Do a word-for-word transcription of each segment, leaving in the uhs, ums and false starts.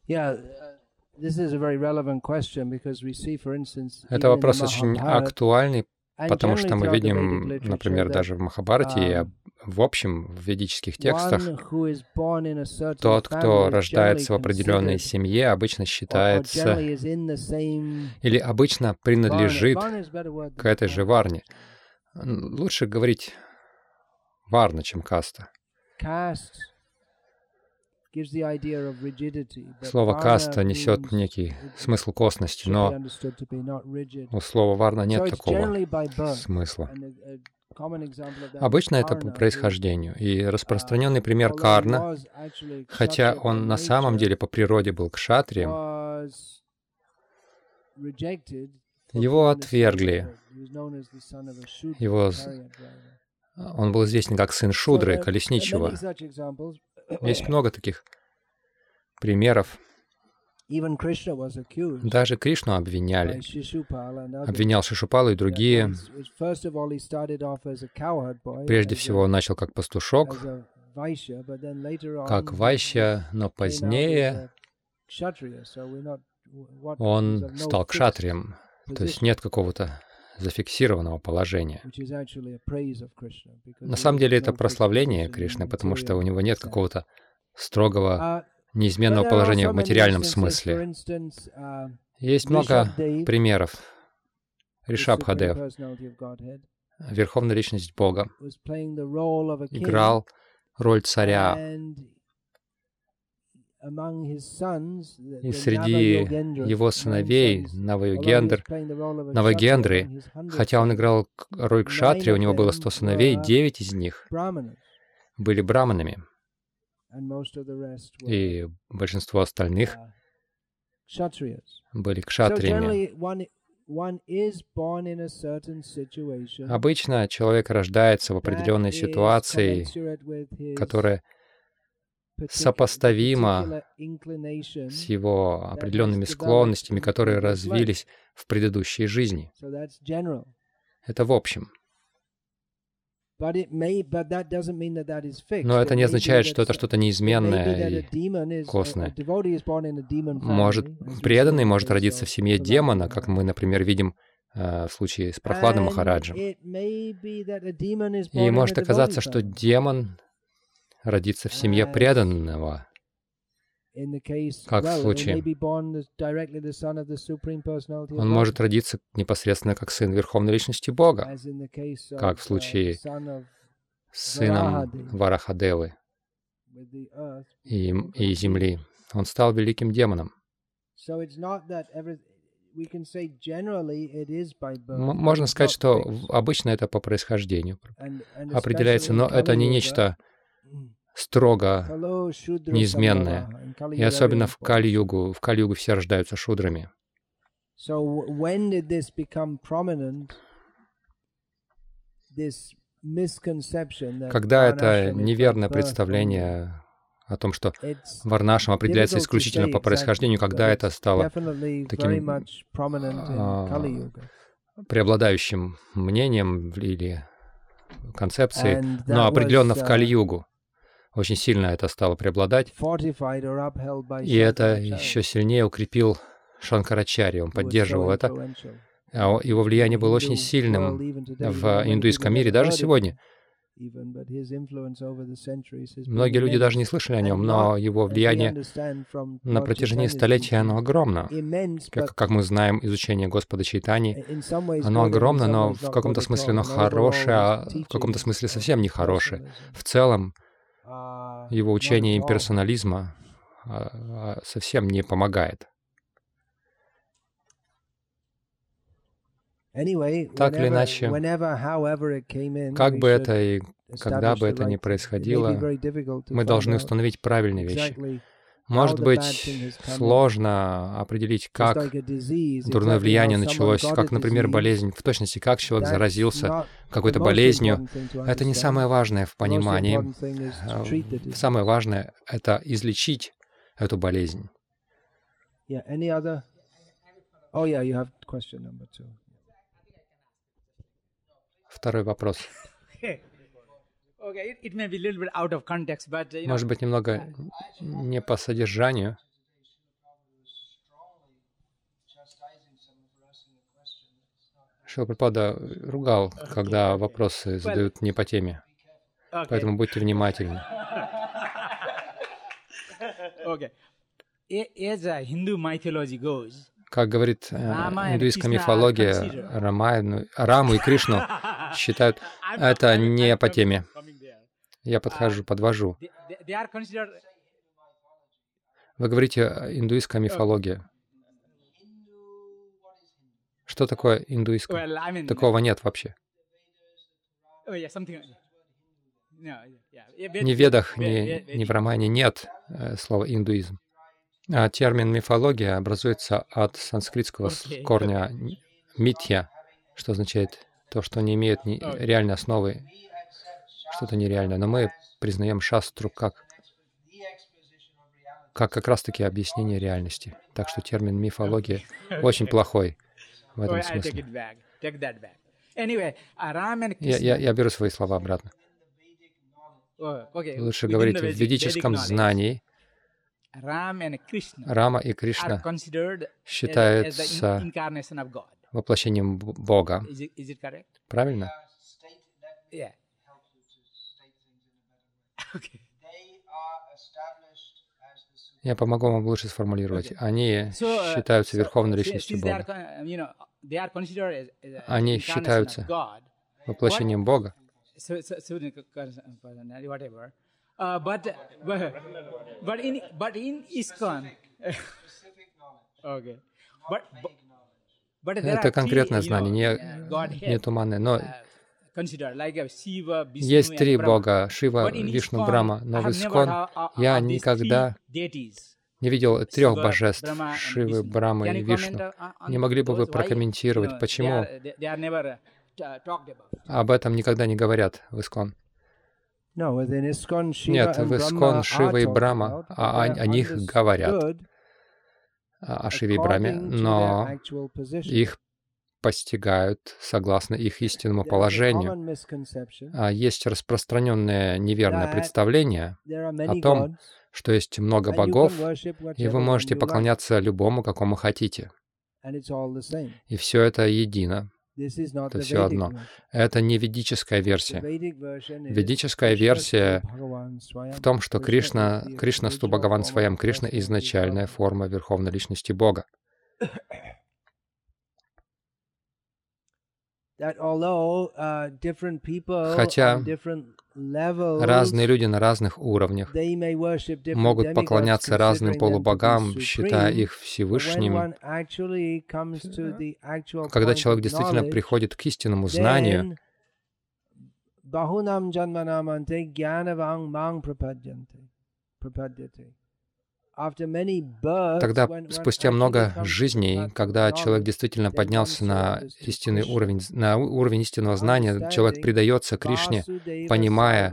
Это вопрос очень актуальный, потому что мы видим, например, даже в Махабхарате и в общем в ведических текстах, тот, кто рождается в определенной семье, обычно считается или обычно принадлежит к этой же варне. Лучше говорить варна, чем каста. Слово «каста» несет некий смысл косности, но у слова «варна» нет такого смысла. Обычно это по происхождению. И распространенный пример Карна, хотя он на самом деле по природе был кшатрием, его отвергли. Его... Он был известен как сын Шудры, колесничего. Есть много таких примеров. Даже Кришну обвиняли. Обвинял Шишупалу и другие. Прежде всего, он начал как пастушок, как вайшья, но позднее он стал кшатрием. То есть нет какого-то зафиксированного положения. На самом деле это прославление Кришны, потому что у него нет какого-то строгого, неизменного положения в материальном смысле. Есть много примеров. Ришабхадев, Верховная Личность Бога, играл роль царя. И среди его сыновей Навайогендр, Навагендры, хотя он играл роль кшатрия, у него было сто сыновей, девять из них были браманами, и большинство остальных были кшатриями. Обычно человек рождается в определенной ситуации, которая сопоставимо с его определенными склонностями, которые развились в предыдущей жизни. Это в общем. Но это не означает, что это что-то неизменное и косное. Может, преданный может родиться в семье демона, как мы, например, видим в случае с Прохладом Махараджем. И может оказаться, что демон родиться в семье преданного, как в случае. Он может родиться непосредственно как сын Верховной Личности Бога, как в случае с сыном Варахадевы и, и Земли. Он стал великим демоном. Можно сказать, что обычно это по происхождению определяется, но это не нечто строго неизменное. И особенно в Кали-югу. В Кали-югу все рождаются шудрами. Когда это неверное представление о том, что варнашам определяется исключительно по происхождению, когда это стало таким а, преобладающим мнением или концепцией, но определенно в Кали-югу очень сильно это стало преобладать, и это еще сильнее укрепил Шанкарачарья, он поддерживал это. Его влияние было очень сильным в индуистском мире, даже сегодня. Многие люди даже не слышали о нем, но его влияние на протяжении столетий, оно огромно. Как, как мы знаем, изучение Господа Чайтаньи, оно огромно, но в каком-то смысле оно хорошее, а в каком-то смысле совсем не хорошее. В целом, его учение имперсонализма совсем не помогает. Так или иначе, как бы это и когда бы это ни происходило, мы должны установить правильные вещи. Может быть, сложно определить, как дурное влияние началось, как, например, болезнь, в точности, как человек заразился какой-то болезнью. Это не самое важное в понимании. Самое важное — это излечить эту болезнь. Второй вопрос. Может быть, немного не по содержанию, Шрила Прабхупада ругал, когда вопросы задают не по теме. Поэтому будьте внимательны. Как говорит э, индуистская мифология, Рамайну, Раму и Кришну считают, это не по теме. Я подхожу, подвожу. Вы говорите индуистская мифология. Что такое индуистская? Такого нет вообще. Ни в Ведах, ни, ни в Рамайне нет э, слова индуизм. А термин мифология образуется от санскритского корня митья, что означает то, что не имеет ни реальной основы, что-то нереальное. Но мы признаем шастру как, как как раз-таки объяснение реальности. Так что термин мифология очень плохой в этом смысле. Я, я, я беру свои слова обратно. Лучше говорить в ведическом знании. Рама и Кришна считаются воплощением Бога. Правильно? Я помогу вам лучше сформулировать. Они считаются верховной личностью Бога. Они считаются воплощением Бога. Uh, but, but but in but in ISKCON, okay, but but это конкретное знание, не, не туманное, но есть три Бога: Шива, Вишну, Брахма. Но в ISKCON я никогда не видел трех божеств: Шивы, Брахмы и Вишну. Не могли бы вы прокомментировать, почему об этом никогда не говорят в ISKCON? Нет, в ISKCON Шива и Брахма, а о, о них говорят, о Шиве и Брахме, но их постигают согласно их истинному положению. А есть распространенное неверное представление о том, что есть много богов, и вы можете поклоняться любому, какому хотите. И все это едино. Это все одно. Это не ведическая версия. Ведическая версия в том, что Кришна, Кришнасту Бхагаван Сваям, Кришна — изначальная форма Верховной Личности Бога. Хотя разные люди на разных уровнях могут поклоняться разным полубогам, считая их Всевышними. Когда человек действительно приходит к истинному знанию, тогда, спустя много жизней, когда человек действительно поднялся на истинный уровень, на уровень истинного знания, человек предается Кришне, понимая,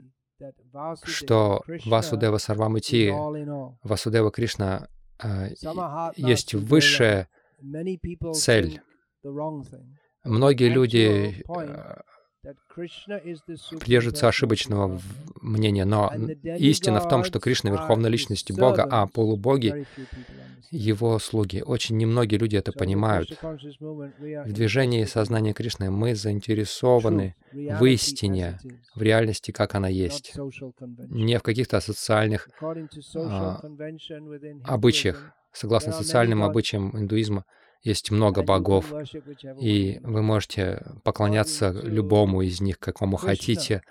что Васудева Сарвамити, Васудева Кришна э, есть высшая цель. Многие люди э, придерживаются ошибочного мнения, но истина в том, что Кришна — верховная личность Бога, а полубоги — Его слуги. Очень немногие люди это понимают. В движении сознания Кришны мы заинтересованы в истине, в реальности, как она есть, не в каких-то социальных а, обычаях. Согласно социальным обычаям индуизма, есть много богов, и вы можете поклоняться любому из них, какому хотите.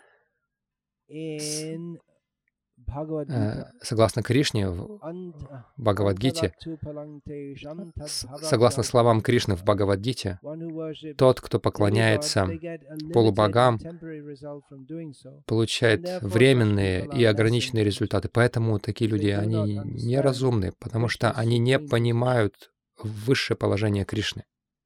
Согласно Кришне в Бхагавад-гите, согласно словам Кришны в Бхагавад-гите, тот, кто поклоняется полубогам, получает временные и ограниченные результаты. Поэтому такие люди, они неразумны, потому что они не понимают высшее положение Кришны.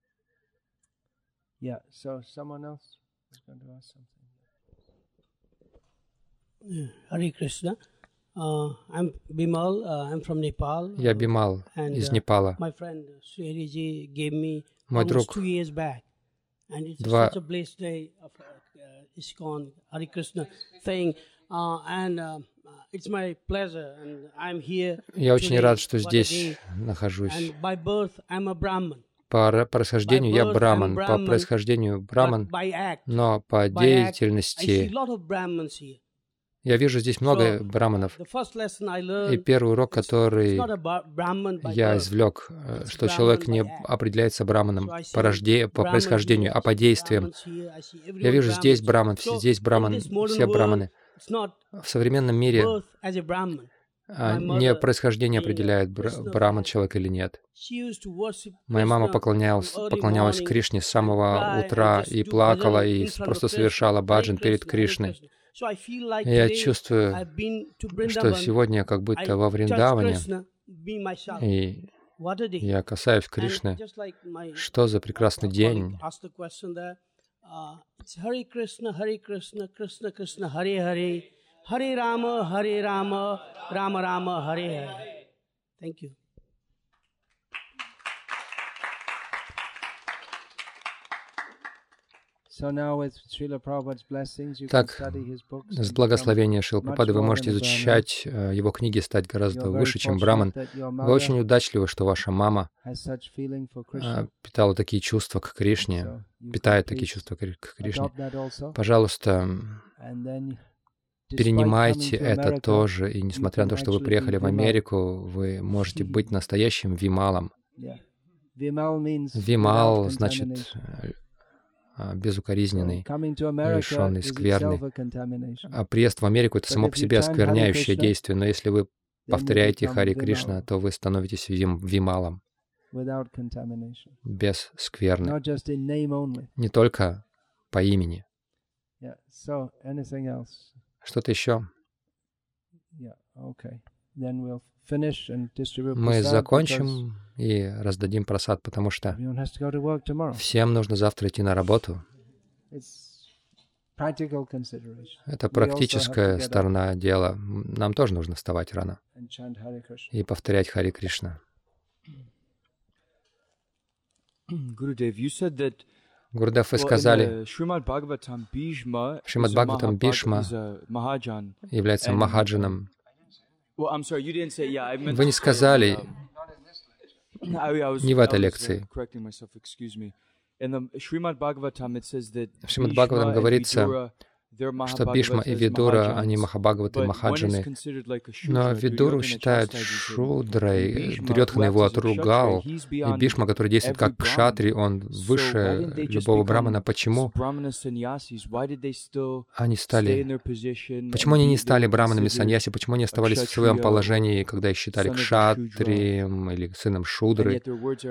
Hare Krishna. Uh, I'm Bimal. Uh, I'm from Nepal. Я Бимал из Непала. My friend Sriji gave me Мой друг two years back, and it's два such a blessed day of uh, ISKCON Hare Krishna thing, uh, and uh, it's my pleasure, and I'm here. Я очень рад, что здесь нахожусь. And by birth, I'm a Brahmin. По происхождению я браман, по происхождению браман, но по деятельности я вижу здесь много браманов. И первый урок, который я извлек, что человек не определяется браманом по, рожде... по происхождению, а по действиям. Я вижу здесь браман, здесь браман, все браманы. В современном мире не происхождение определяет, браман человек или нет. Моя мама поклонялась, поклонялась Кришне с самого утра и плакала, и просто совершала баджан перед Кришной. И я чувствую, что сегодня я как будто во Вриндаване, и я касаюсь Кришны. Что за прекрасный день! Харе Рама, Харе Рама, Рама Рама, Харе Харе. Thank you. Так, с благословения Шрилы Прабхупады вы можете изучать его книги, стать гораздо выше, чем браман. Вы очень удачливы, что ваша мама питала такие чувства к Кришне, питает такие чувства к Кришне. Пожалуйста, перенимайте это тоже, и несмотря на то, что вы приехали в Америку, вы можете быть настоящим вималом. Вимал значит безукоризненный, лишенный, скверный. А приезд в Америку — это само по себе оскверняющее действие, но если вы повторяете Харе Кришна, то вы становитесь вим, вималом, без скверны, не только по имени. Что-то еще? Мы закончим и раздадим прасад, потому что всем нужно завтра идти на работу. Это практическая сторона дела. Нам тоже нужно вставать рано и повторять Харе Кришна. Гурудев, вы сказали, Шримад Бхагаватам Бхишма является махаджаном. Вы не сказали, не в этой лекции. В Шримад Бхагаватам говорится, что Бхишма и Видура, они Махабхагаваты, Махаджаны. Но Видуру считают шудрой, Дурьодхана его отругал, и Бхишма, который действует как кшатри, он выше любого брамана. Почему они стали... Почему они не стали браманами саньяси? Почему они оставались в своем положении, когда их считали кшатрием или сыном шудры?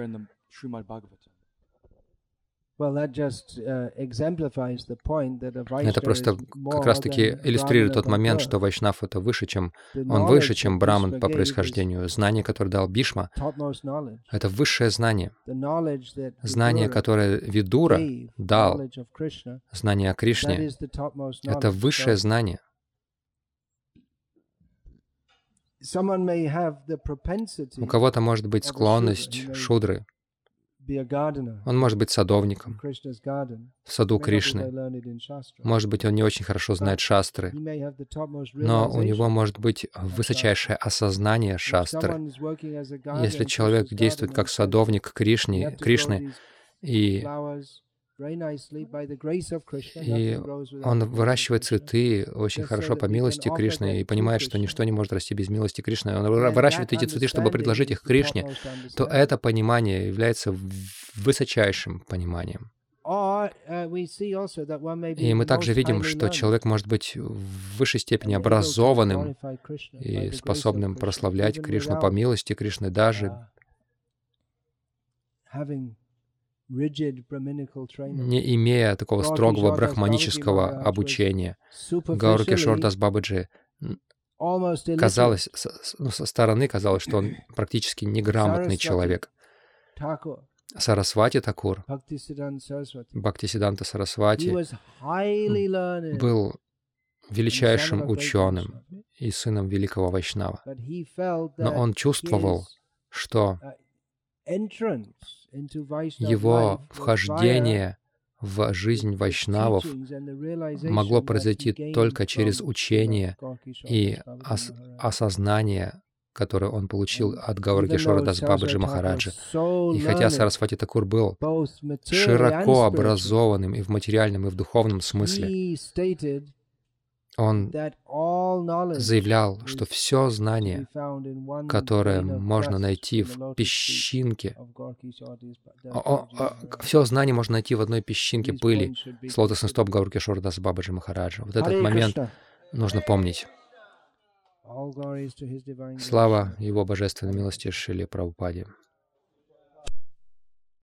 Это просто как раз-таки иллюстрирует тот момент, что вайшнав — это выше, чем он выше, чем браман по происхождению. Знание, которое дал Бхишма, это высшее знание. Знание, которое Видура дал, знание о Кришне, это высшее знание. У кого-то может быть склонность шудры. Он может быть садовником в саду Кришны. Может быть, он не очень хорошо знает шастры, но у него может быть высочайшее осознание шастры. Если человек действует как садовник Кришны, Кришны и, и он выращивает цветы очень хорошо по милости Кришны и понимает, что ничто не может расти без милости Кришны, он выращивает эти цветы, чтобы предложить их Кришне, то это понимание является высочайшим пониманием. И мы также видим, что человек может быть в высшей степени образованным и способным прославлять Кришну по милости Кришны, даже не имея такого строгого брахманического обучения. Гаура Кишор Дас Бабаджи, казалось, ну, со стороны казалось, что он практически неграмотный человек. Сарасвати Такур, Бхактисиданта Сарасвати, был величайшим ученым и сыном великого вайшнава. Но он чувствовал, что его вхождение в жизнь вайшнавов могло произойти только через учение и ос- осознание которую он получил от Гауры Кишора Дас Бабаджи Махараджа. И хотя Сарасвати Такур был широко образованным и в материальном, и в духовном смысле, он заявлял, что все знание, которое можно найти в песчинке, все знание можно найти в одной песчинке пыли с лотосных стоп Гауры Кишора Дас Бабаджи Махараджа. Вот этот момент нужно помнить. Слава Его Божественной милости Шриле Прабхупаде.